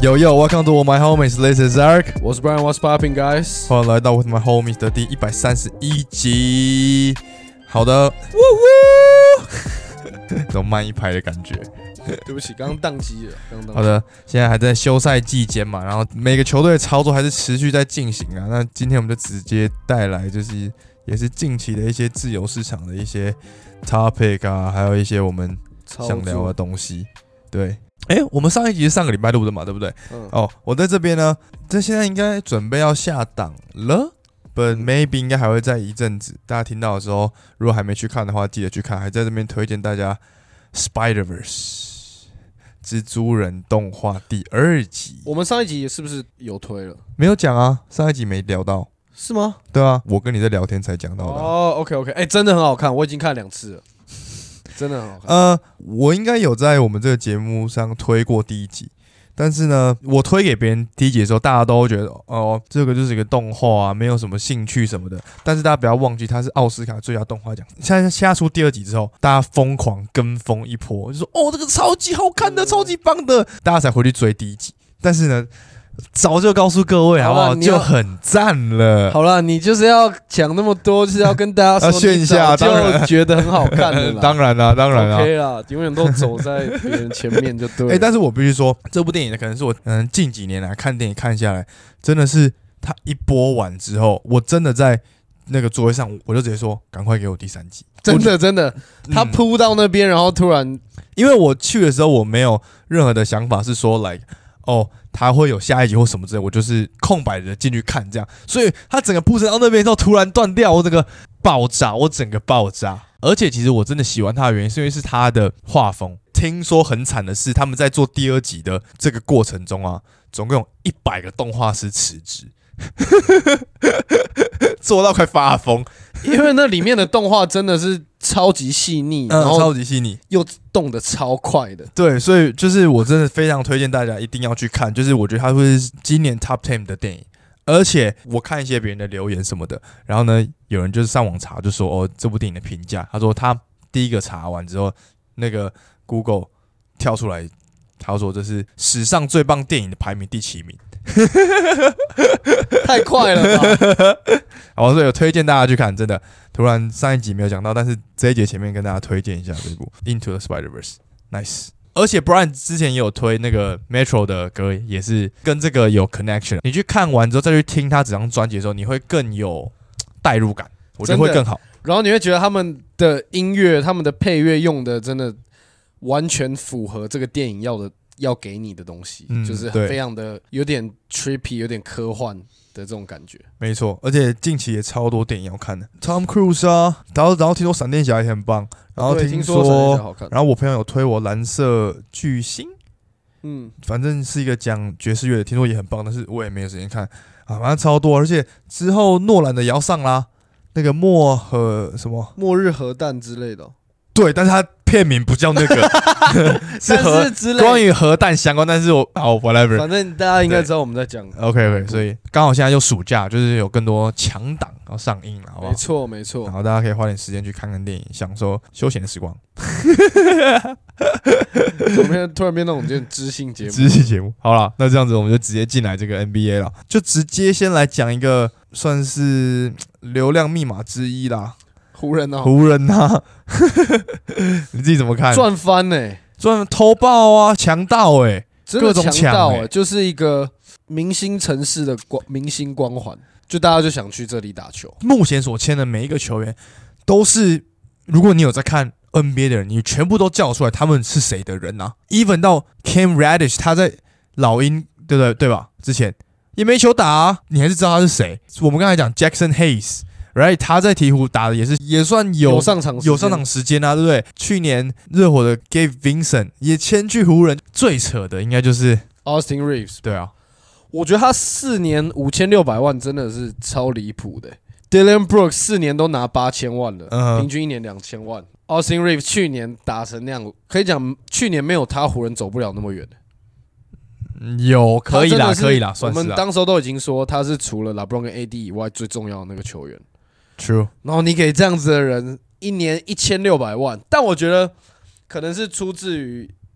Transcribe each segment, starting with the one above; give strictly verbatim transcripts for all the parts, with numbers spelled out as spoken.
Yo yo, welcome to my homies. This is Eric. 我是 Brian，What's popping, guys？ 欢迎来到 With my homies 的第一百三十一集。好的，呜呜，这种慢一拍的感觉。 对不起，刚刚宕机了。刚刚好的，现在还在休赛季间嘛，然后每个球队的操作还是持续在进行啊。那今天我们就直接带来，就是也是近期的一些自由市场的一些 topic 啊，还有一些我们想聊的东西。对。哎、欸，我们上一集是上个礼拜录的嘛，对不对？嗯。哦，我在这边呢，这现在应该准备要下档了 ，but maybe 应该还会再一阵子。大家听到的时候，如果还没去看的话，记得去看。还在这边推荐大家 Spider-Verse 蜘蛛人动画第二集。 我们上一集是不是有推了？ 没有讲啊，上一集没聊到。 是吗？ 对啊，我跟你在聊天才讲到的、啊。 哦 ，OK OK， 哎、欸，真的很好看，我已经看了两次了。真的很好看。 呃，我应该有在我们这个节目上推过第一集，但是呢，我推给别人第一集的时候，大家都会觉得哦，这个就是一个动画啊，没有什么兴趣什么的。但是大家不要忘记，它是奥斯卡最佳动画奖。现在下出第二集之后，大家疯狂跟风一波，就说哦，这个超级好看的，超级棒的，大家才回去追第一集。但是呢，早就告诉各位好不好？就很赞了。 好啦，你就是要讲那么多，就是要跟大家说炫一下， 就觉得很好看的啦。 当然啦，当然啦 ，OK 啦，永远都走在别人前面就对了。 哎、欸，但是我必须说，这部电影呢，可能是我嗯近几年来看电影看下来，真的是它一播完之后，我真的在那个座位上，我就直接说，赶快给我第三集。 真的真的，他扑到那边，然后突然， 因为我去的时候，我没有任何的想法是说，like 哦。他会有下一集或什么之类，我就是空白的进去看这样，所以他整个铺陈到那边之后突然断掉，我整个爆炸，我整个爆炸。而且其实我真的喜欢他的原因，是因为是他的画风。听说很惨的是，他们在做第二集的这个过程中啊，总共有一百个动画师辞职，做到快发疯。 因为那里面的动画真的是超级细腻， 嗯， 然后超级细腻， 又动得超快的。 对，所以就是我真的非常推荐大家一定要去看，就是我觉得它会是今年 Top ten 的电影。而且我看一些别人的留言什么的，然后呢，有人就是上网查，就说哦，这部电影的评价，他说他第一个查完之后，那个 Google 跳出来，他说这是史上最棒电影的排名第七名。 太快了吧！ 好，所以有推荐大家去看，真的。突然上一集没有讲到，但是这一节前面跟大家推荐一下这部《Into the Spider-Verse》 ，nice。而且 Brian 之前也有推那个 Metro 的歌，也是跟这个有 connection。你去看完之后再去听他整张专辑的时候，你会更有代入感，我觉得会更好。 然后你会觉得他们的音乐、他们的配乐用的真的完全符合这个电影要的。要给你的东西，嗯、就是非常的有点 trippy， 有点科幻的这种感觉。 没错，而且近期也超多电影要看的 ，Tom Cruise 啊，然后然后听说闪电侠也很棒，然后听说， 说然后我朋友有推我蓝色巨星，嗯，反正是一个讲爵士乐的，听说也很棒，但是我也没有时间看啊，反正超多，而且之后诺兰的也要上啦，那个末和什么末日核弹之类的、哦。 对，但是他片名不叫那个，是核关于核弹相关，但是我好 whatever， 反正大家应该知道我们在讲。 OK OK， 所以刚好现在就暑假，就是有更多强档要上映了，好不好？ 没错没错， 然后大家可以花点时间去看看电影，享受休闲的时光。 怎么突然变那种就知性节目？ 知性节目，好了，那这样子我们就直接进来这个 N B A 了，就直接先来讲一个算是流量密码之一啦。 湖人啊， 湖人啊，你自己怎么看？ 赚翻呢、欸？ 赚偷爆啊，强盗哎、欸，各种强盗哎、欸， 就是一个明星城市的光明星光环，就大家就想去这里打球。 目前所签的每一个球员都是，如果你有在看 N B A 的人，你全部都叫出来他们是谁的人啊 ？Even 到 Cam Reddish 他在老鹰，对不对？对吧？之前也没球打啊，你还是知道他是谁。我们刚才讲 Jackson Hayes。Right， 他在鹈鹕打的也是也算有有上场有上场时间啊，对不对？去年热火的 Gabe Vincent 也签去湖人，最扯的应该就是 Austin Reeves。 对啊， 我觉得他四年五千六百万真的是超离谱的。Dylan Brooks 四年都拿八千万了，嗯、平均一年两千万。Austin Reeves 去年打成那样，可以讲去年没有他湖人走不了那么远的。 有可以啦，可以啦，算是啦。 我们当时候都已经说他是除了 LeBron 跟 A D 以外最重要的那个球员。 True。 然后你给这样子的人一年一千六百万，但我觉得可能是出自于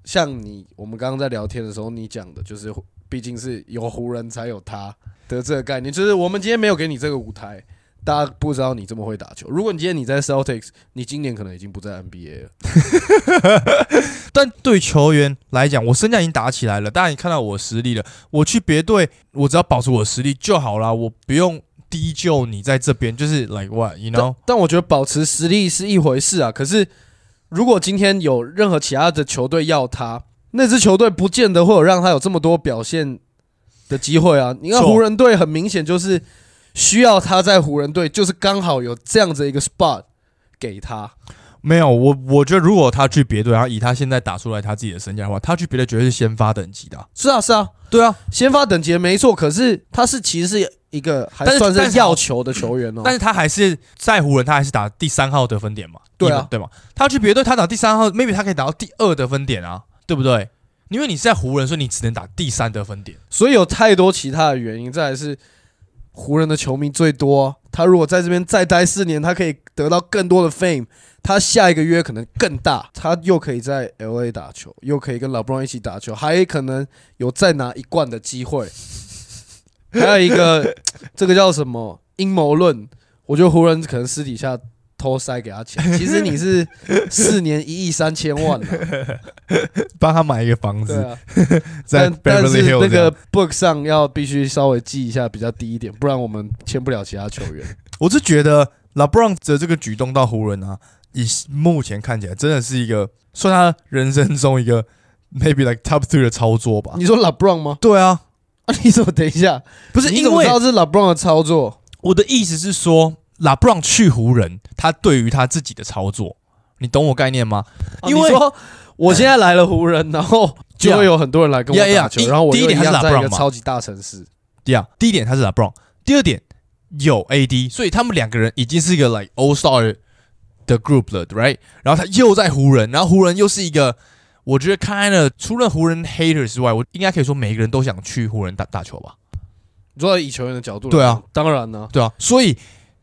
像你我们刚刚在聊天的时候，你讲的就是，毕竟是有湖人才有他的这个概念，就是我们今天没有给你这个舞台，大家不知道你这么会打球。如果你今天你在 Celtics， 你今年可能已经不在 N B A 了。 但对球员来讲，我身价已经打起来了，大家已经看到我的实力了。我去别队，我只要保持我的实力就好啦，我不用低就你在这边，就是 like what you know 但。但我觉得保持实力是一回事啊，可是如果今天有任何其他的球队要他，那支球队不见得会有让他有这么多表现的机会啊。你看湖人队很明显就是需要他在湖人队，就是刚好有这样子一个 spot 给他。 没有，我我觉得如果他去别队，然后以他现在打出来他自己的身价的话，他去别队绝对是先发等级的、啊。 是啊，是啊， 对啊， 先发等级的没错。可是他是其实是一个还算是要球的球员哦。 但是他还是在湖人，他还是打第三号得分点嘛？ 对啊， 对嘛？他去别队，他打第三号 ，maybe 他可以打到第二得分点啊，对不对？因为你是在湖人，所以你只能打第三得分点。 所以有太多其他的原因。再来是湖人的球迷最多、啊，他如果在这边再待四年，他可以得到更多的 fame。他下一个约可能更大，他又可以在 L A 打球，又可以跟 LeBron 一起打球，还可能有再拿一冠的机会。还有一个，这个叫什么阴谋论？我觉得湖人可能私底下偷塞给他钱，其实你是四年一亿三千万、啊， 帮他买一个房子。 对啊， 在 Beverly Hills 但是那个 book 上要必须稍微记一下比较低一点，不然我们签不了其他球员。 我是觉得 LeBron 的这个举动到湖人啊。以目前看起来，真的是一个算他人生中一个 maybe like top three 的操作吧。 你说 LeBron 吗？ 对啊， 啊，你怎么等一下？ 不是， 你怎么知道是 LeBron 的操作？ 我的意思是说 ，LeBron 去湖人，他对于他自己的操作，你懂我概念吗？ 因为、啊、你说我现在来了湖人，然后就会有很多人来跟我打球， yeah, yeah, 然后我又一样在一个超级大城市。 对啊，第一点他是 LeBron， 第二点有 A D， 所以他们两个人已经是一个 like All Star。的 group 了 ，right？ 然后他又在湖人，然后湖人又是一个，我觉得 kind of 除了湖人 haters 之外，我应该可以说每一个人都想去湖人打打球吧。 你说以球员的角度， 对啊， 当然呢、啊， 对啊，所以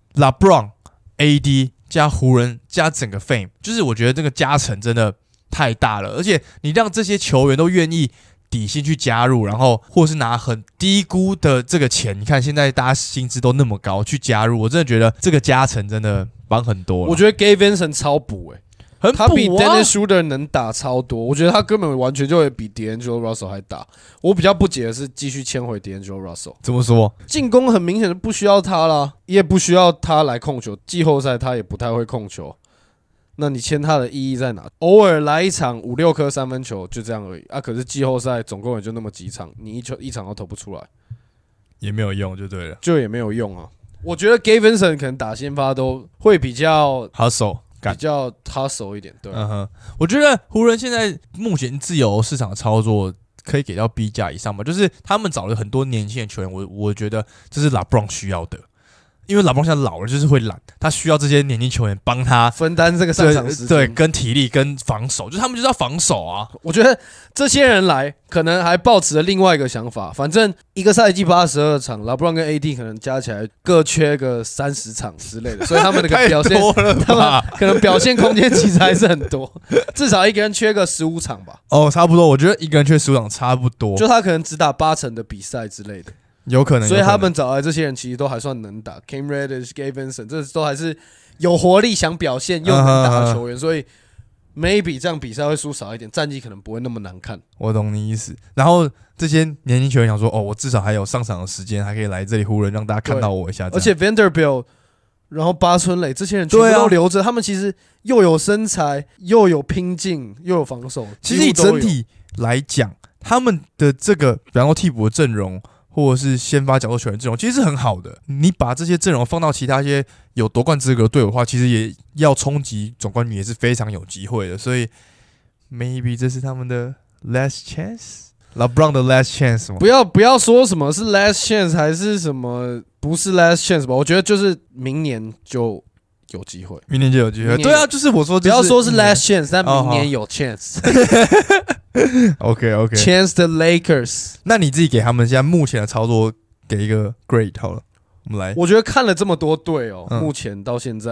LeBron、A D 加湖人加整个 fame， 就是我觉得这个加成真的太大了，而且你让这些球员都愿意底薪去加入，然后或是拿很低估的这个钱，你看现在大家薪资都那么高去加入，我真的觉得这个加成真的。帮很多， 我觉得 Gabe Vincent 超补诶、欸， 很补啊， 他比 Dennis Schroeder 能打超多，我觉得他根本完全就会比 D'Angelo Russell 还打。我比较不解的是，继续签回 D'Angelo Russell， 怎么说？ 进攻很明显的不需要他啦，也不需要他来控球，季后赛他也不太会控球。那你签他的意义在哪？偶尔来一场五六颗三分球就这样而已啊！可是季后赛总共也就那么几场，你一球一场都投不出来， 也没有用，就对了， 就也没有用啊。我觉得 Gabe Vincent 可能打先发都会比较 hustle， 比较 hustle 一点，对、啊。 嗯哼，我觉得湖人现在目前自由市场的操作可以给到 B 价以上吧，就是他们找了很多年轻的球员，我我觉得这是 LeBron 需要的。因为LeBron现在老了，就是会懒，他需要这些年轻球员帮他分担这个上场时间， 对，跟体力跟防守，就是他们就是要防守啊。 我觉得这些人来，可能还抱持了另外一个想法，反正一个赛季八十二场，LeBron跟 A D 可能加起来各缺个三十场之类的，所以他们的表现，他们可能表现空间其实还是很多，至少一个人缺个十五场吧。 哦，差不多，我觉得一个人缺十五场差不多， 就他可能只打八成的比赛之类的。 有可能， 所以他们找来这些人其实都还算能打 ，Cam Reddish、Gabe Vincent， 这都还是有活力、想表现又能打的球员， uh, uh, uh. 所以 maybe 这样比赛会输少一点，战绩可能不会那么难看。 我懂你意思。然后这些年轻球员想说，哦，我至少还有上场的时间，还可以来这里湖人让大家看到我一下。 而且 Vanderbilt， 然后八村垒这些人全部都留着，啊、他们其实又有身材，又有拼劲，又有防守。 其实以整体来讲，他们的这个，比方说替补的阵容。或者是先发角斗球员阵容，其实是很好的。你把这些阵容放到其他一些有夺冠资格的队伍的话，其实也要冲击总冠军也是非常有机会的。所以 maybe 这是他们的 last chance，LeBron 的 last chance 吗？ 不要不要说什么是 last chance 还是什么不是 last chance 吧，我觉得就是明年就有机会， 明年就有机会。对啊，就是我说、就是， 不要说是 last chance， 但明年有 chance。OK OK，Chance the Lakers。 那你自己给他们现在目前的操作给一个 grade 好了，我们来。 我觉得看了这么多队哦、嗯，目前到现在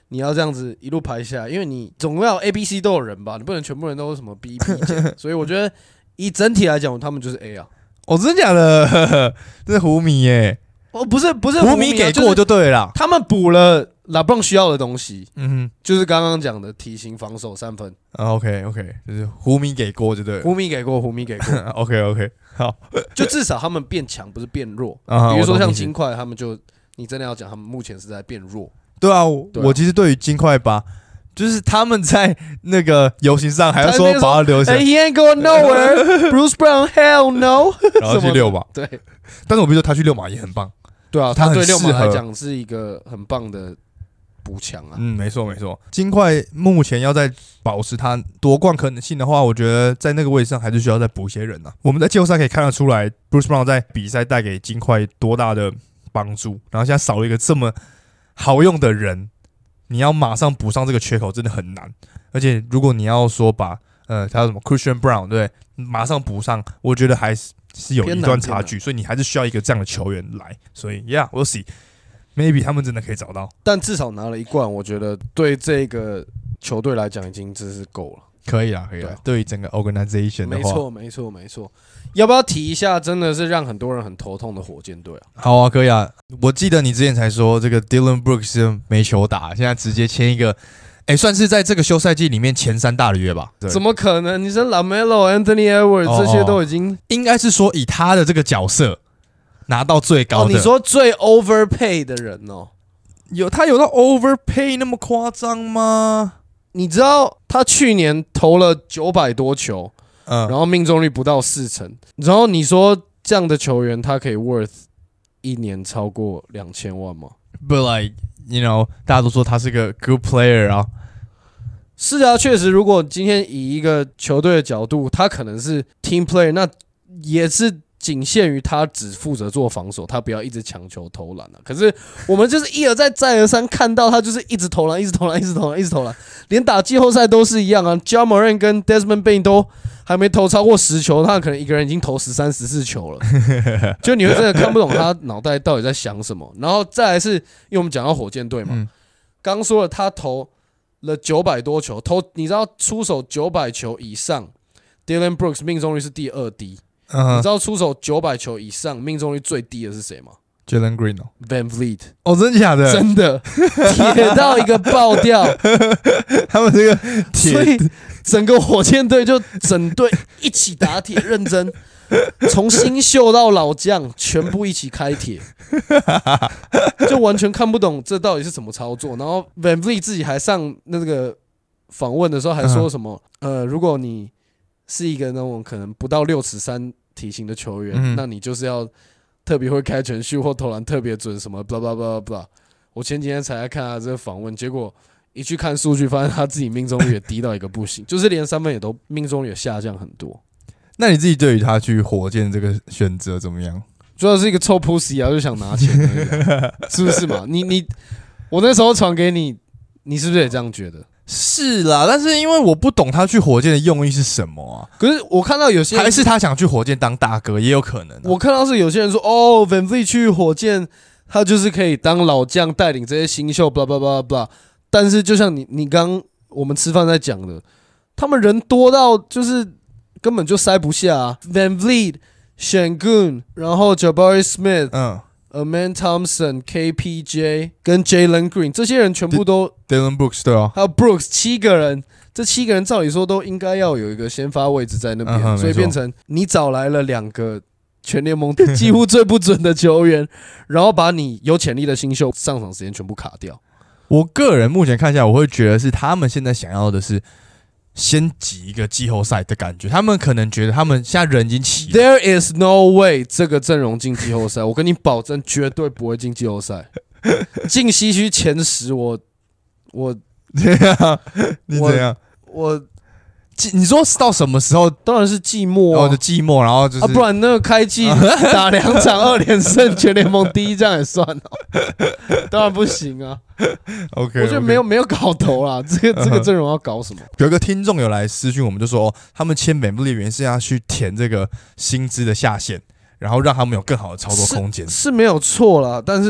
你要这样子一路排下来，因为你总要 A、B、C 都有人吧，你不能全部人都是什么 B、B 减，所以我觉得以整体来讲，他们就是 A 啊。 哦，真的假的？这是胡迷耶！ 哦，不是不是胡迷给过就对了， 他们补了LeBron需要的东西， 嗯哼， 就是刚刚讲的体型、防守、三分。 啊 ，OK OK， 就是胡迷给过就对了。 胡迷给过，胡迷给过。 OK OK， 好， 就至少他们变强，不是变弱。 啊、 比如说像金块，他们就你真的要讲，他们目前是在变弱。 对啊，我, 对啊我其实对于金块吧，就是他们在那个游行上还要说把他留下。 He ain't going nowhere. Bruce Brown, hell no. 然后去六马， 对。 但是我比如说他去六马也很棒。 对啊，他对六马来讲是一个很棒的补强啊。 嗯，没错没错。金块目前要在保持他夺冠可能性的话，我觉得在那个位置上还是需要再补一些人啊。我们在季后赛可以看得出来 ，Bruce Brown 在比赛带给金块多大的帮助。然后现在少了一个这么好用的人，你要马上补上这个缺口真的很难。而且如果你要说把呃他什么 Christian Brown 对，马上补上，我觉得还是。是有一段差距，所以你还是需要一个这样的球员来。所以 ，Yeah， we'll see，maybe 他们真的可以找到。 但至少拿了一冠，我觉得对这个球队来讲已经真是够了。 可以啦，可以啦。对于整个 organization 的话， 没错，没错，没错。要不要提一下？真的是让很多人很头痛的火箭队啊。 好啊，可以啊。我记得你之前才说这个 Dillon Brooks 没球打，现在直接签一个。哎，算是在这个休赛季里面前三大的约吧？ 怎么可能？你说 LaMelo、Anthony Edwards、哦、这些都已经， 应该是说以他的这个角色拿到最高的。 哦、你说最 overpay 的人哦， 有他有到 overpay 那么夸张吗？ 你知道他去年投了九百多球， 嗯， 然后命中率不到四成，然后你说这样的球员他可以 worth 一年超过两千万吗 ？But like。You know， 大家都说他是个 good player 啊。 是啊，确实，如果今天以一个球队的角度，他可能是 team player， 那也是仅限于他只负责做防守，他不要一直强求投篮啊。可是我们就是一而再再而三看到他就是一直投篮，一直投篮，一直投篮，一直投篮，连打季后赛都是一样啊。Ja Morant 跟 Desmond Bane 都还没投超过十球，他可能一个人已经投十三、十四球了，就你会真的看不懂他脑袋到底在想什么。然后再来是，因为我们讲到火箭队嘛，刚、嗯、说了他投了九百多球，投你知道出手九百球以上 ，Dillon Brooks 命中率是第二低。Uh-huh. 你知道出手九百球以上命中率最低的是谁吗 ？Jalen Green 哦 ，Van Vliet 哦，真的假的？ 真的铁到一个爆掉。 他们这个铁， 所以整个火箭队就整队一起打铁，认真，从新秀到老将全部一起开铁，就完全看不懂这到底是怎么操作。然后 Van Vliet 自己还上那个访问的时候还说什么？ Uh-huh. 呃，如果你是一个那种可能不到六尺三体型的球员，嗯、那你就是要特别会开全秀或投篮特别准什么 blah blah blah blah。我前几天才来看他这个访问，结果一去看数据，发现他自己命中率也低到一个不行，就是连三分也都命中率也下降很多。 那你自己对于他去火箭这个选择怎么样？ 主要是一个臭 pussy 啊，就想拿钱而已，是不是嘛？你你我那时候传给你，你是不是也这样觉得？ 是啦，但是因为我不懂他去火箭的用意是什么啊。 可是我看到有些人还是他想去火箭当大哥，也有可能、啊。 我看到是有些人说，哦 ，Van Vliet 去火箭，他就是可以当老将，带领这些新秀，blah blah blah blah。但是就像你你刚我们吃饭在讲的，他们人多到就是根本就塞不下、啊。Van Vliet、Şengün， 然后 Jabari Smith， 嗯。Amen Thompson、K P J 跟 Jalen Green 这些人全部都 Dillon Brooks 对啊， 还有 Brooks 七个人，这七个人照理说都应该要有一个先发位置在那边，嗯、所以变成你找来了两个全联盟几乎最不准的球员，然后把你有潜力的新秀上场时间全部卡掉。 我个人目前看下来，我会觉得是他们现在想要的是先挤一个季后赛的感觉，他们可能觉得他们现在人已经齐了。 There is no way 这个阵容进季后赛，我跟你保证绝对不会进季后赛。进西区前十我，我我怎样？你怎样？ 我。我你说到什么时候？ 当然是季末、啊， 哦，就季末，然后就是、 啊，不然那个开季打两场二连胜，全联盟第一，这样也算哦？当然不行啊。 OK， 我觉得没有没有搞头啦，这个这个阵容要搞什么？ 有一个听众有来私讯我们，就说、哦、他们签Van Vliet的原因是要去填这个薪资的下限，然后让他们有更好的操作空间， 是, 是没有错啦。但是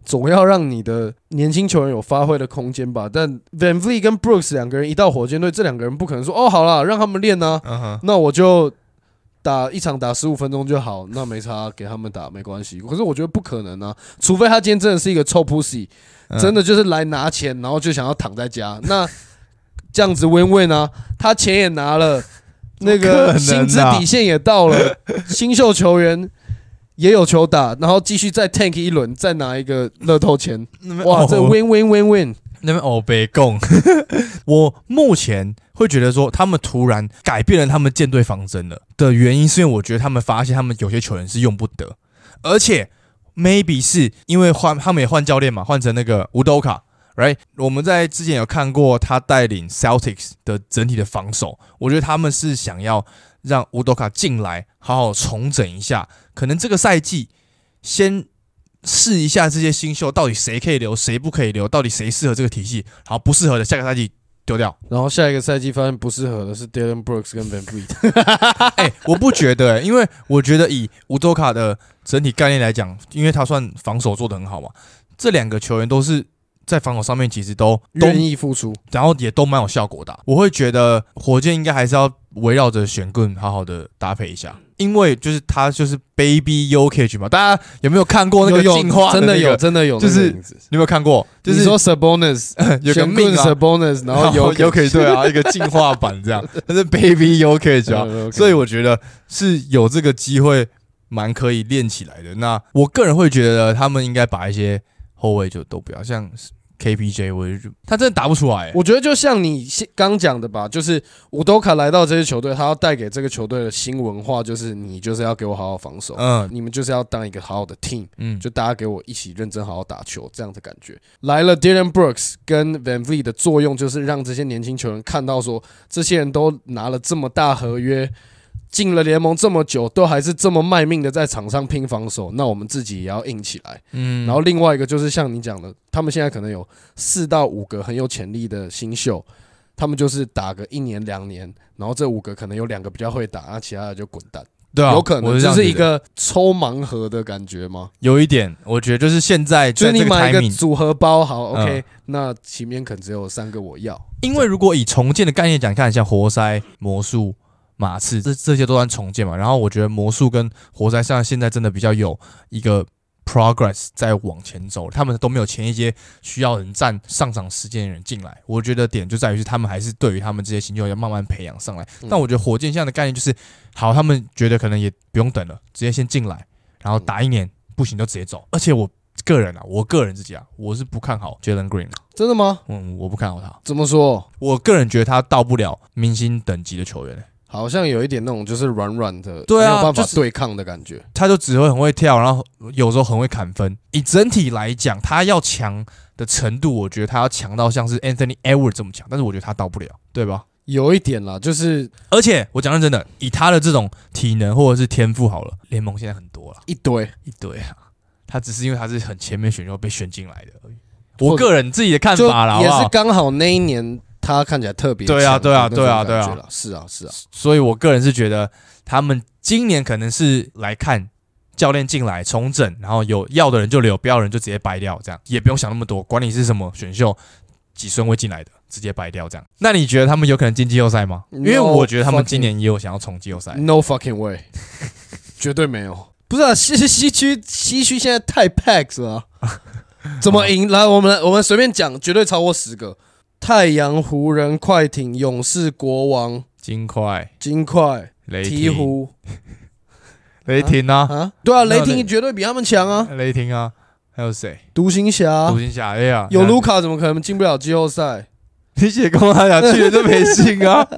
总要让你的年轻球员有发挥的空间吧。但 VanVleet 跟 Brooks 两个人一到火箭队，这两个人不可能说哦好啦，让他们练啊， uh-huh. 那我就打一场打十五分钟就好，那没差，给他们打没关系。可是我觉得不可能啊，除非他今天真的是一个臭 pussy，、嗯、真的就是来拿钱，然后就想要躺在家，那这样子 win win 啊，他钱也拿了，那个薪资底线也到了，新秀球员也有球打，然后继续再 tank 一轮，再拿一个乐透钱，哇，这 win win win win。 那边欧北共，我目前会觉得说，他们突然改变了他们舰队方针了的原因，是因为我觉得他们发现他们有些球员是用不得，而且 maybe 是因为换他们也换教练嘛，换成那个乌多卡 ，right？ 我们在之前有看过他带领 Celtics 的整体的防守，我觉得他们是想要让乌多卡进来，好好重整一下，可能这个赛季先试一下这些新秀到底谁可以留，谁不可以留，到底谁适合这个体系，好不适合的下个赛季丢掉， 然后下一个赛季发现不适合的是 Dillon Brooks 跟 VanVleet。 哎、欸，我不觉得、欸，因为我觉得以乌多卡的整体概念来讲，因为他算防守做得很好嘛，这两个球员都是在防守上面其实都愿意付出， 然后也都蛮有效果的、啊。我会觉得火箭应该还是要围绕着选棍好好的搭配一下。因为就是他就是 Baby Jokic 嘛，大家有没有看过那个进化的、那個？ 真的有，真的有， 就是你有没有看过？就是你说 Sabonis 有个命啊 ，Sabonis， 然后有 Jokic 对啊，一个进化版这样，他是 Baby Jokic 啊， okay. 所以我觉得是有这个机会，蛮可以练起来的。那我个人会觉得他们应该把一些后卫就都不要像。K P J 我就他真的打不出来、欸， 我觉得就像你刚讲的吧，就是乌多卡来到这支球队，他要带给这个球队的新文化，就是你就是要给我好好防守，嗯，你们就是要当一个好好的 team， 嗯，就大家给我一起认真好好打球，这样的感觉。来了 Dillon Brooks 跟 VanVleet 的作用，就是让这些年轻球员看到说，这些人都拿了这么大合约。进了联盟这么久，都还是这么卖命的在场上拼防守，那我们自己也要硬起来。嗯，然后另外一个就是像你讲的，他们现在可能有四到五个很有潜力的新秀，他们就是打个一年两年，然后这五个可能有两个比较会打，那其他的就滚蛋。 对啊， 有可能就是一个抽盲盒的感觉吗？ 有一点，我觉得就是现在就是你买一个组合包，好 ，OK，、嗯、那前面可能只有三个我要。 因为如果以重建的概念讲，看像活塞、魔术。马刺这这些都算重建嘛，然后我觉得魔术跟活塞像现在真的比较有一个 progress 在往前走，他们都没有前一阶需要人占上场时间的人进来，我觉得点就在于是他们还是对于他们这些新秀要慢慢培养上来。但我觉得火箭现在的概念就是，好，他们觉得可能也不用等了，直接先进来，然后打一年不行就直接走。而且我个人啊，我个人自己啊，我是不看好 Jalen Green 的。 真的吗？ 嗯，我不看好他。 怎么说？ 我个人觉得他到不了明星等级的球员、欸。 好像有一点那种就是软软的， 对啊， 没有办法对抗的感觉。 他就只会很会跳，然后有时候很会砍分。以整体来讲，他要强的程度，我觉得他要强到像是 Anthony Edwards 这么强，但是我觉得他到不了，对吧？ 有一点啦，就是而且我讲认真的，以他的这种体能或者是天赋，好了，联盟现在很多了， 一堆一堆啊。他只是因为他是很前面选秀被选进来的而已。我个人自己的看法啦， 也是刚好那一年。他看起来特别对啊，对啊，对啊，对啊， 是啊，是啊， 所以我个人是觉得他们今年可能是来看教练进来重整，然后有要的人就留，不要的人就直接掰掉，这样也不用想那么多，管你是什么选秀几顺位进来的，直接掰掉这样。那你觉得他们有可能进季后赛吗？ No、因为我觉得他们今年也有想要冲季后赛。 No fucking way， 绝对没有。不是啊，西西区西区现在太 packed 了、啊，怎么赢？来，我们我们随便讲，绝对超过十个。太阳、湖人、快艇、勇士、国王、 金块、 金块、 雷霆、 鹈鹕、 雷霆啊啊！对啊，雷霆绝对比他们强啊！ 雷霆啊，还有谁？ 独行侠， 独行侠，哎呀， 有卢卡怎么可能进不了季后赛？ 你写公他讲去了就没信啊！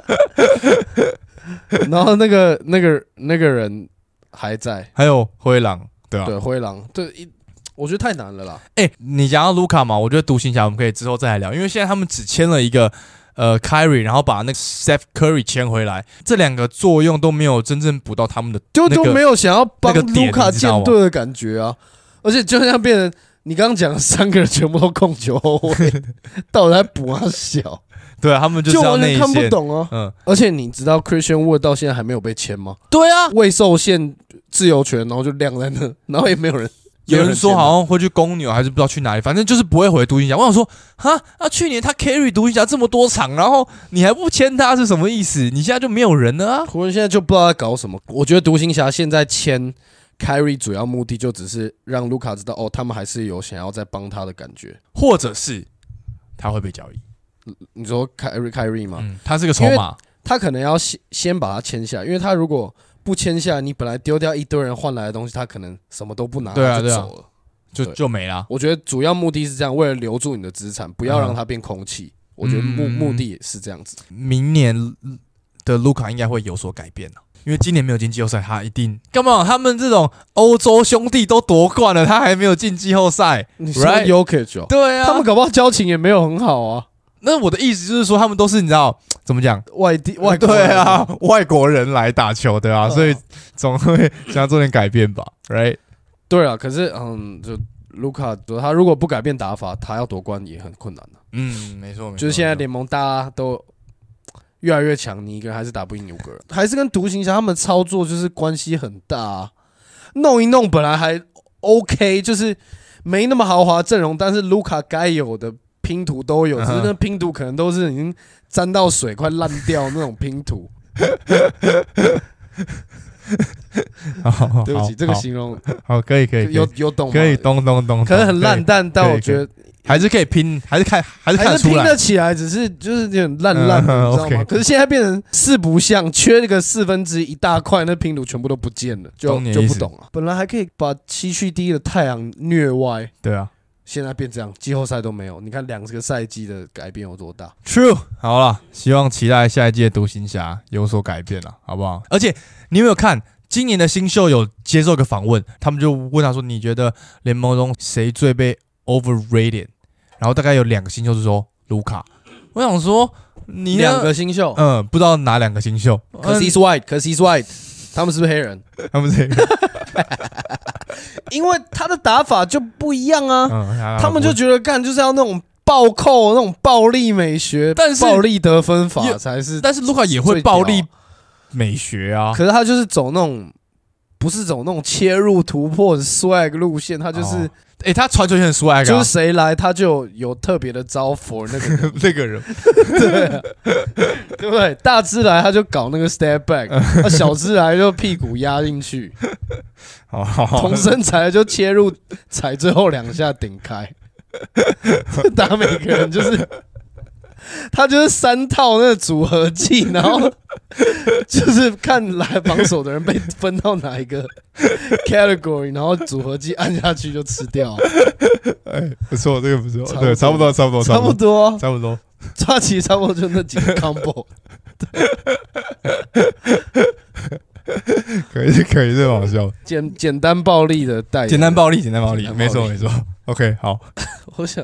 然后那个那个那个人还在， 还有灰狼，对啊， 对灰狼，对一。我觉得太难了啦！ 哎、欸，你讲到卢卡嘛，我觉得独行侠我们可以之后再来聊，因为现在他们只签了一个呃 Kyrie， 然后把那个 Steph Curry 签回来，这两个作用都没有真正补到他们的、那個， 就都没有想要帮卢卡建队的感觉啊！而且就像变成你刚刚讲的三个人全部都控球后卫，到底在补啊小？ 对啊，他们就是要内线， 就完全看不懂啊！嗯，而且你知道 Christian Wood 到现在还没有被签吗？ 对啊， 未受限自由权，然后就晾在那，然后也没有人。 有人说好像会去公牛，还是不知道去哪里，反正就是不会回独行侠。我想说，哈，啊，去年他 carry 独行侠这么多场，然后你还不签他是什么意思？你现在就没有人了啊！ 湖人现在就不知道在搞什么。我觉得独行侠现在签 carry 主要目的就只是让卢卡知道，哦，他们还是有想要再帮他的感觉， 或者是他会被交易。 你说 carry carry 吗？ 嗯，他是个筹码， 他可能要先先把他签下，因为他如果不签下，你本来丢掉一堆人换来的东西，他可能什么都不拿， 对啊， 就走了， 就就没了。 我觉得主要目的是这样，为了留住你的资产，不要让它变空气。嗯、我觉得目目的也是这样子。 明年的卢卡应该会有所改变了，因为今年没有进季后赛，他一定干嘛？他们这种欧洲兄弟都夺冠了，他还没有进季后赛。 你说 Jokic 哦？ 对啊， 他们搞不好交情也没有很好啊。 那我的意思就是说，他们都是你知道怎么讲， 外地外国对啊，外国人来打球的啊，所以总会想要做点改变吧 ，right？ 对啊，可是嗯，就卢卡他如果不改变打法，他要夺冠也很困难的、啊。 嗯，没错， 就是现在联盟大家都越来越强，你一个人还是打不赢五个人，还是跟独行侠他们操作就是关系很大、啊。弄一弄本来还 OK， 就是没那么豪华阵容，但是卢卡该有的拼图都有，只是那拼图可能都是已经沾到水快烂掉那种拼图。 好， 对不起，这个形容好，可以可以， 有有懂吗？ 可以懂懂懂， 可能很烂，但但我觉得还是可以拼，还是看还是看得出来， 还是拼得起来，只是就是有点烂烂的，你知道吗？可是现在变成四不像，缺那个四分之一大块，那拼图全部都不见了，就就不懂了。本来还可以把西区第一的太阳虐歪， 对啊。 现在变这样，季后赛都没有。你看两个赛季的改变有多大 ？True， 好了，希望期待下一季的独行侠有所改变了，好不好？而且你有没有看今年的新秀有接受一个访问，他们就问他说：“你觉得联盟中谁最被 overrated？” 然后大概有两个新秀是说卢卡。我想说，你两个新秀， 嗯，不知道哪两个新秀。 可是 he's white， 可是 he's white， 他们是不是黑人？ 他们是黑人。 因为他的打法就不一样啊， 嗯、 他们就觉得干就是要那种暴扣、那种暴力美学，但是暴力得分法才是。 但是卢卡也会暴力美学啊， 可是他就是走那种不是走那种切入突破的 swag 路线，他就是， 哎、哦欸，他传球很 swag，、啊、 就是谁来他就有特别的招 for 那个人那个人， 对、啊，对不对？大只来他就搞那个 step back， 啊、小只来就屁股压进去。同身材就切入，踩最后两下顶开，打每个人就是他就是三套那个组合技，然后就是看来防守的人被分到哪一个 category， 然后组合技按下去就吃掉。 哎，不错，这个不错，对，差不多，差不多， 差不多， 差不多， 抓起差不多就那几个 combo。 可以可以，这个好笑。 简简单暴力的代言， 简单暴力，简单暴力，没错没错。OK， 好。 我想，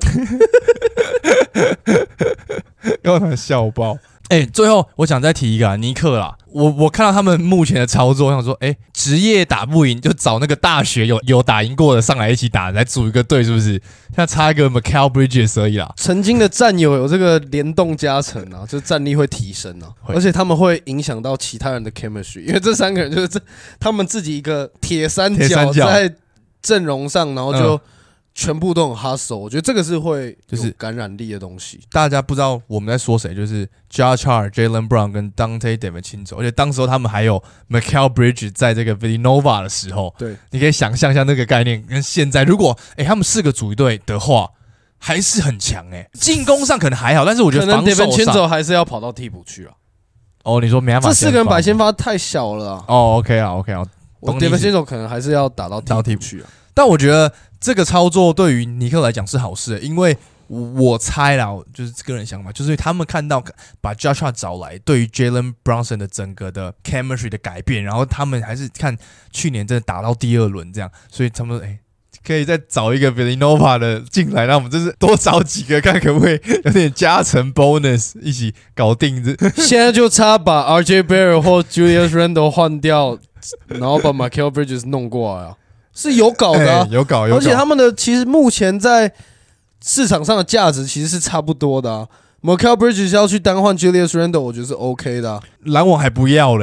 要他笑爆。哎、欸，最后我想再提一个、啊、尼克啦。我我看到他们目前的操作，我想说，哎、欸，职业打不赢就找那个大学有有打赢过的上来一起打，来组一个队，是不是？现在差一个 Mikal Bridges 而已啦。 曾经的战友有这个联动加成啊，就战力会提升啊，而且他们会影响到其他人的 chemistry， 因为这三个人就是这他们自己一个铁三角在阵容上，然后就。嗯全部都很 hustle， 我觉得这个是会就是感染力的东西。 大家不知道我们在说谁，就是 Josh Hart、Jaylen Brown 跟 Dante DiVincenzo， 而且当时他们还有 Mikal Bridges 在这个 Villanova 的时候， 对， 你可以想象一下那个概念跟现在，如果哎、欸、他们四个组一队的话，还是很强哎、欸。进攻上可能还好，但是我觉得防守上 DiVincenzo 还是要跑到替补去啊。 哦，你说没办法， 这四个人摆先发太小了啊。 哦 ，OK 啊 ，OK 啊， 我 DiVincenzo 可能还是要打到替补去啊。 但我觉得这个操作对于尼克来讲是好事的，因为我猜啦，就是个人想法，就是他们看到把 Josh Hart 找来，对于 Jalen Brunson 的整个的 chemistry 的改变，然后他们还是看去年真的打到第二轮这样，所以他们哎、欸、可以再找一个 Villanova 的进来，让我们就是多找几个，看可不可以有点加成 bonus 一起搞定这。 现在就差把 R J Barrett 或 Julius Randle 换掉，然后把 Mikal Bridges 弄过来啊。是有搞的、啊欸，有搞有搞， 而且他们的其实目前在市场上的价值其实是差不多的啊。Mikal Bridges 要去单换 Julius Randle， 我觉得是 OK 的、啊。 篮网还不要嘞，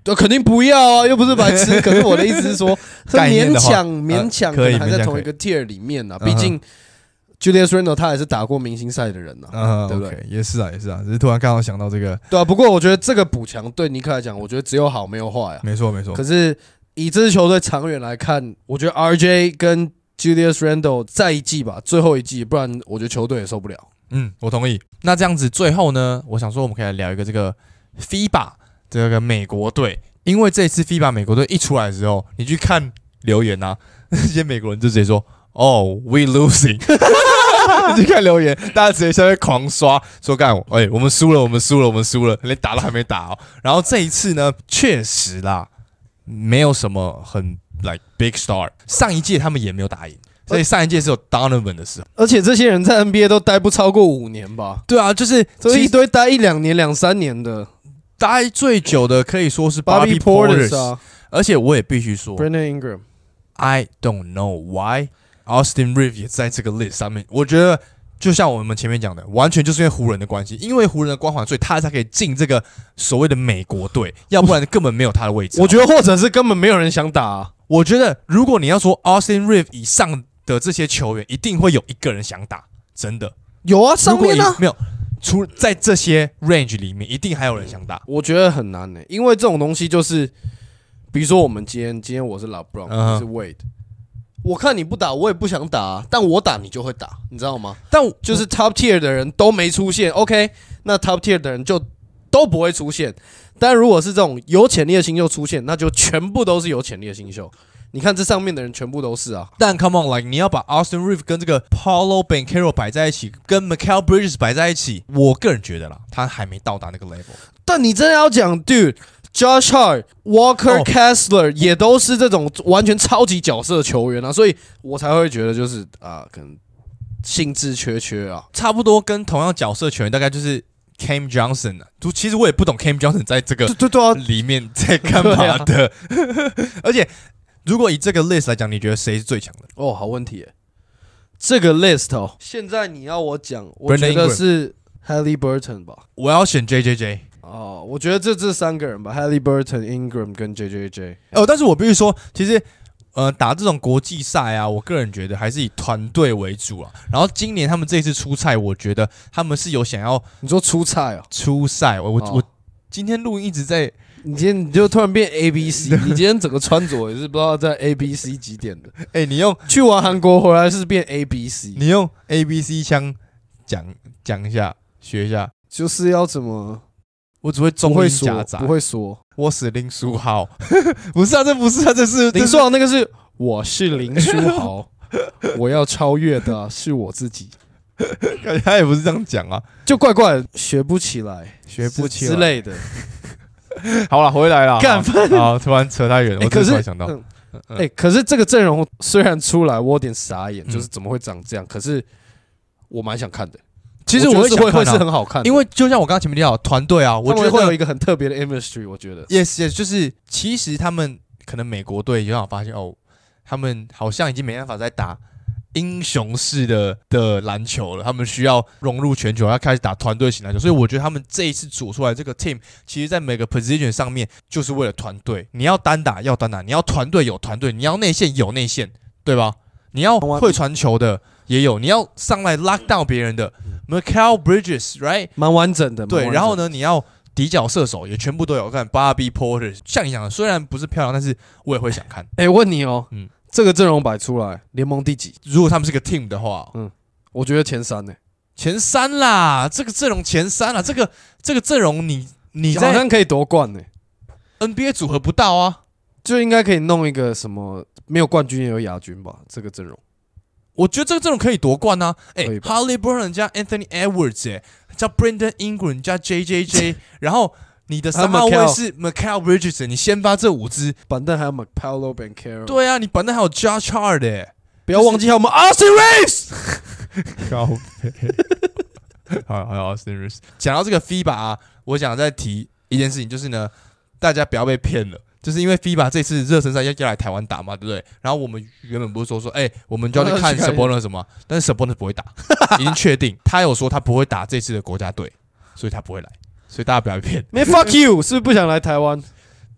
对，肯定不要啊，又不是白痴。可是我的意思是说，是勉强勉强可能还在同一个 tier 里面啊。毕竟 Julius Randle 他也是打过明星赛的人呐、啊， uh-huh, 对不对？ Okay, 也是啊，也是啊，只是突然刚好想到这个。 对啊，不过我觉得这个补强对尼克来讲，我觉得只有好没有坏啊。 没错没错。 可是以这支球队长远来看，我觉得 R J 跟 Julius Randle 再一季吧，最后一季，不然我觉得球队也受不了。 嗯，我同意。那这样子，最后呢，我想说，我们可以来聊一个这个 F I B A 这个美国队，因为这次 F I B A 美国队一出来的时候，你去看留言啊，那些美国人就直接说：“哦 ，We losing。”你去看留言，大家直接下面狂刷，说干我，哎，我们输了，我们输了，我们输了，连打都还没打哦。然后这一次呢，确实啦，没有什么很 like big star， 上一届他们也没有打赢。所以上一届是有 Donovan 的时候， 而且这些人在 N B A 都待不超过五年吧？ 对啊，就是这一堆待一两年、两三年的， 待最久的可以说是 Bobby Portis 啊。 而且我也必须说 ，Brandon Ingram，I don't know why Austin Reeves 也在这个 list 上面。我觉得就像我们前面讲的，完全就是因为湖人的关系，因为湖人的光环，所以他才可以进这个所谓的美国队，要不然根本没有他的位置。 我觉得或者是根本没有人想打、啊。 我觉得如果你要说 Austin Reeves 以上的这些球员，一定会有一个人想打，真的有啊，上面啊没有，除在这些 range 里面，一定还有人想打。 我觉得很难呢、欸，因为这种东西就是，比如说我们今天，今天我是 LeBron，、uh-huh. 你是 Wade， 我看你不打，我也不想打、啊，但我打你就会打，你知道吗？但就是 top tier 的人都没出现 ，OK， 那 top tier 的人就都不会出现。但如果是这种有潜力的新秀出现，那就全部都是有潜力的新秀。你看这上面的人全部都是啊， 但 come on，like 你要把 Austin Reeves 跟这个 Paolo Banchero 摆在一起，跟 Mikal Bridges 摆在一起，我个人觉得啦，他还没到达那个 level。 但你真的要讲 ，Dude，Josh Hart、Walker Kessler、oh. 也都是这种完全超级角色球员啊，所以我才会觉得就是啊，可能兴致缺缺啊， 差不多跟同样角色球员大概就是。Cam Johnson 啊，其实我也不懂 Cam Johnson 在这个里面在干嘛的，而且如果以这个 list 来讲，你觉得谁是最强的？ 哦，好问题耶，这个 list 哦，现在你要我讲，我觉得是 Haliburton 吧， 我要选 J J J 哦，我觉得这这三个人吧 ，Haliburton、Ingram 跟 J J J。 哦，但是我必须说，其实。呃，打这种国际赛啊，我个人觉得还是以团队为主啊。然后今年他们这一次出赛，我觉得他们是有想要你说出赛哦， 出赛。我我、哦、我今天录音一直在， 你今天你就突然变 A B C， 你今天整个穿着也是不知道在 A B C 几点的。 哎、欸，你用去完韩国回来是变 A B C， 你用 A B C 腔讲讲一下，学一下， 就是要怎么？ 我只会中英夹杂， 不会说。 我是林书豪，不是啊，这不是啊，这是林书豪那个是我是林书豪，我要超越的是我自己。 感觉他也不是这样讲啊， 就怪怪的，学不起来， 学不起来之类的。 好了，回来了， 干饭。 好，突然扯太远，我突然想到， 哎、嗯欸，可是这个阵容虽然出来，我有点傻眼，嗯、就是怎么会长这样？可是我蛮想看的。 其实我会是会会是很好看的， 因为就像我刚刚前面提到团队啊，我觉得会有一个很特别的 chemistry。我觉得 yes yes， 就是其实他们可能美国队有想发现哦，他们好像已经没办法再打英雄式的的篮球了，他们需要融入全球，要开始打团队型篮球。所以我觉得他们这一次组出来这个 team， 其实在每个 position 上面就是为了团队。你要单打要单打，你要团队有团队，你要内线有内线，对吧？你要会传球的。也有，你要上来 lock down 别人的 Mikal Bridges，right， 蛮完整的。 对，然后呢，你要底角射手也全部都有看 ，Bobby Portis， 像你讲的，虽然不是漂亮，但是我也会想看。 哎、欸，问你哦，嗯，这个阵容摆出来，联盟第几？ 如果他们是个 team 的话， 嗯，我觉得前三呢、欸， 前三啦，这个阵容前三啦，这个这个阵容你你在好像可以夺冠呢、欸、 ，N B A 组合不到啊， 就应该可以弄一个什么没有冠军也有亚军吧？这个阵容。 我觉得这个阵容可以夺冠啊！哎、欸、，Haliburton 加 Anthony Edwards， 哎、欸，加 Brandon Ingram 加 J J J， 然后你的三号位是 Mikal Bridges， 你先发这五支， 板凳还有 Paolo Banchero， 对啊，你板凳还有 Josh Hart， 哎、欸， 不要忘记还有我们 Austin Reeves， 高好，还有 Austin Reeves。讲到这个 F I B A 啊，我想再提一件事情，就是呢，大家不要被骗了。就是因为 F I B A 这次热身赛要要来台湾打嘛，对不对？然后我们原本不是说说，哎、欸，我们就要去看 Sabonis 什么，但是 Sabonis 不会打，已经确定，他有说他不会打这次的国家队，所以他不会来，所以大家不要被骗。 没 fuck you， 是不是不想来台湾？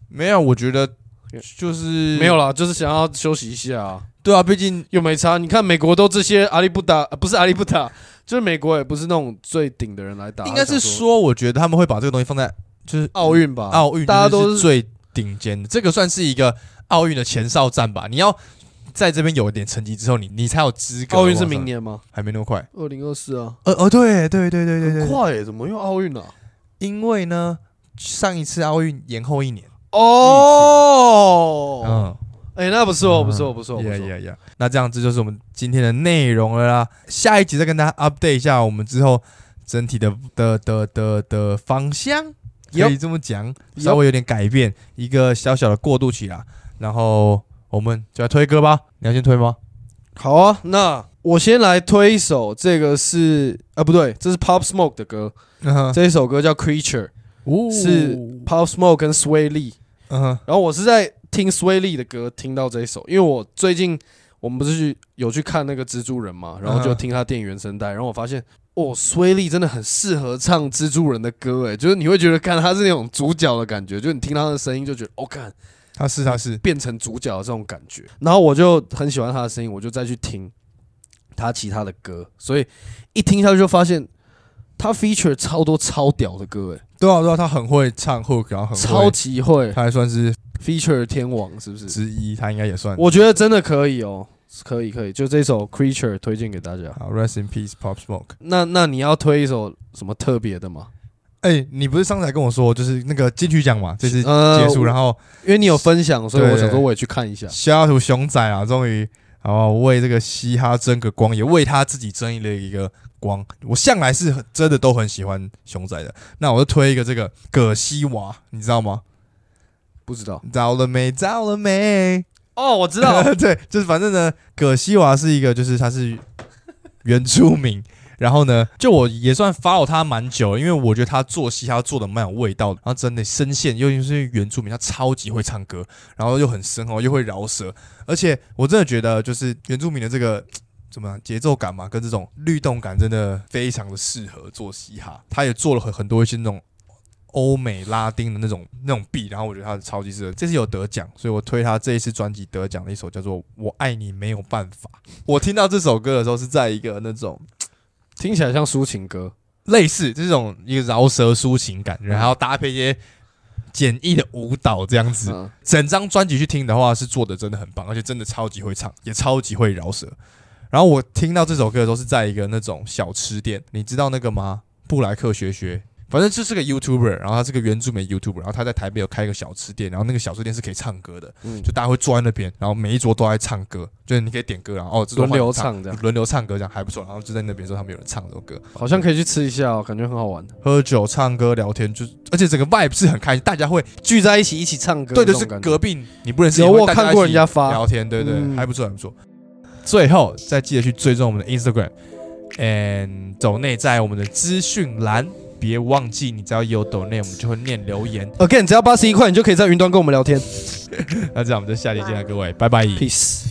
没有，我觉得就是没有啦，就是想要休息一下、啊。 对啊，毕竟又没差。你看美国都这些阿里不打，呃、不是阿里不打，就是美国也不是那种最顶的人来打。 应该是说，我觉得他们会把这个东西放在就是奥运吧， 奥运大家都是最顶尖的，这个算是一个奥运的前哨战吧。你要在这边有一点成绩之后，你你才有资格。 奥运是明年吗？ 还没那么快， 二零二四啊。 呃哦，对对对对对对， 很快耶，怎么又奥运了、啊？ 因为呢，上一次奥运延后一年。 哦， 嗯， 哎、欸，那不错，不错，不错，不错。 呀呀呀！那这样子就是我们今天的内容了啦。下一集再跟大家 update 一下我们之后整体的的的的的方向，可以这么讲，稍微有点改变，一个小小的过渡期啦。然后我们就来推歌吧，你要先推吗？ 好啊，那我先来推一首，这个是啊不对，这是 Pop Smoke 的歌，嗯、这一首歌叫 Creature，、哦、是 Pop Smoke 跟 Sway Lee，、嗯、然后我是在听 Sway Lee 的歌听到这一首，因为我最近我们不是去有去看那个蜘蛛人嘛，然后就听他电影原声带，然后我发现哦 Sway Lee 真的很适合唱蜘蛛人的歌，哎，就是你会觉得看他是那种主角的感觉，就是你听他的声音就觉得哦看。 他是他是变成主角的这种感觉，然后我就很喜欢他的声音，我就再去听他其他的歌，所以一听下去就发现他 feature 超多超屌的歌，哎， 对啊对啊，他很会唱 hook， 然后很会超级会， 他还算是 feature 天王是不是？ 之一，他应该也算。 我觉得真的可以哦，可以可以，就这首 Creature 推荐给大家。 好 ，Rest in peace Pop Smoke。 那那你要推一首什么特别的吗？ 哎、欸，你不是上次还跟我说，就是那个金曲奖嘛，这次结束、呃，然后因为你有分享，所以我想说我也去看一下。 下图熊仔啊，终于好为这个嘻哈争个光，也为他自己争了一个光。我向来是真的都很喜欢熊仔的，那我就推一个这个葛西娃，你知道吗？ 不知道。 找了没？找了没？ 哦，我知道。 对，就是反正呢，葛西娃是一个，就是他是原住民。然后呢，就我也算 follow 他蛮久，因为我觉得他做戏他做的蛮有味道的，然后真的声线，尤其是原住民，他超级会唱歌，然后又很深厚，又会饶舌，而且我真的觉得就是原住民的这个怎么样节奏感嘛，跟这种律动感真的非常的适合做嘻哈。他也做了很很多一些那种欧美拉丁的那种那种 beat， 然后我觉得他超级适合。这次有得奖，所以我推他这一次专辑得奖的一首叫做《我爱你没有办法》。我听到这首歌的时候是在一个那种。 听起来像抒情歌， 类似这种一个饶舌抒情感，然后搭配一些简易的舞蹈这样子。嗯、整张专辑去听的话，是做的真的很棒，而且真的超级会唱，也超级会饶舌。然后我听到这首歌的时候是在一个那种小吃店，你知道那个吗？布莱克学学。反正就是个 YouTuber， 然后他是个原住民 YouTuber， 然后他在台北有开一个小吃店，然后那个小吃店是可以唱歌的，嗯、就大家会坐在那边，然后每一桌都在唱歌，就是你可以点歌，然后哦， 轮流唱这样， 轮流唱歌这样还不错，然后就在那边说他们有人唱这首歌， 好像可以去吃一下哦，感觉很好玩。 喝酒、唱歌、聊天，就而且整个 vibe 是很开心，大家会聚在一起一起唱歌， 对对，是隔壁你不认识， 有我看过人家发聊天，对对，嗯、还不错还不错。最后再记得去追踪我们的 Instagram，and 抖内在我们的资讯栏。别忘记，你只要有抖内，我们就会念留言。 Again， 只要八十一块，你就可以在云端跟我们聊天。 那这样我们就下期见了，各位，拜拜 ，peace。